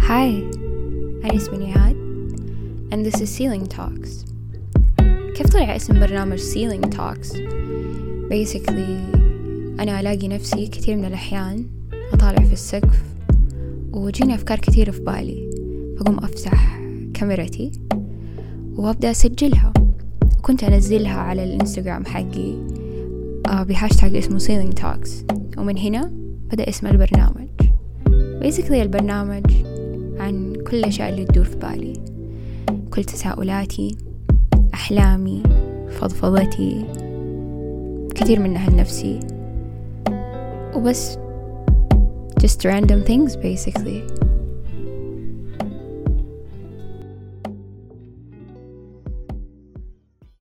Hi, أنا اسمي نهاد and this is Ceiling Talks. كيف طلع اسم برنامج Ceiling Talks؟ Basically أنا ألاقي نفسي كثير من الأحيان أطالع في السقف وجيني أفكار كثيرة في بالي، فقوم أفتح كاميرتي وأبدأ أسجلها، وكنت أنزلها على الإنستغرام حقي بهاشتاج اسمه Ceiling Talks، ومن هنا بدأ اسم البرنامج. Basically البرنامج عن كل الأشياء اللي تدور في بالي، كل تساؤلاتي، أحلامي، فضفضتي، كثير منها لنفسي، وبس just random things basically.